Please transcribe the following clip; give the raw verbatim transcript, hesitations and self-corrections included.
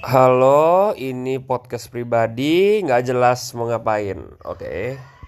Halo, ini podcast pribadi, nggak jelas mau ngapain, oke?